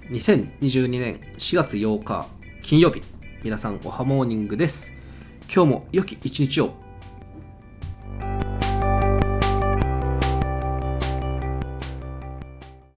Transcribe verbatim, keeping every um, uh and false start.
にせんにじゅうにねんしがつようか金曜日、皆さんおはモーニングです。今日も良き一日を